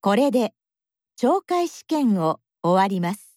これで懲戒試験を終わります。